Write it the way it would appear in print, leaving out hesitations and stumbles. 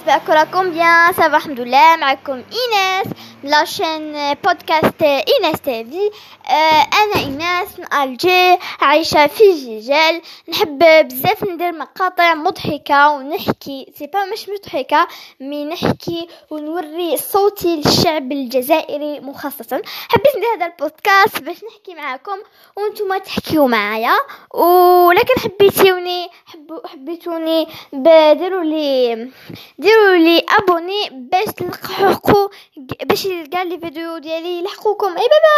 j'espère راكم bien. Ça va الحمد لله. معكم إيناس من لاشين بودكاست إيناس تيفي. أنا إيناس من ألجي عايشة في جيجال. نحب بزاف ندير مقاطع مضحكة ونحكي مش مضحكة نحكي ونوري صوتي للشعب الجزائري مخصصا. حبيت ندير هذا البودكاست باش نحكي معكم وانتم تحكيوا معايا، ولكن حبيتوني ديروا لي ابوني باش تلحقوا باش يلقى لي فيديو ديالي يلحقوكم. اي باي.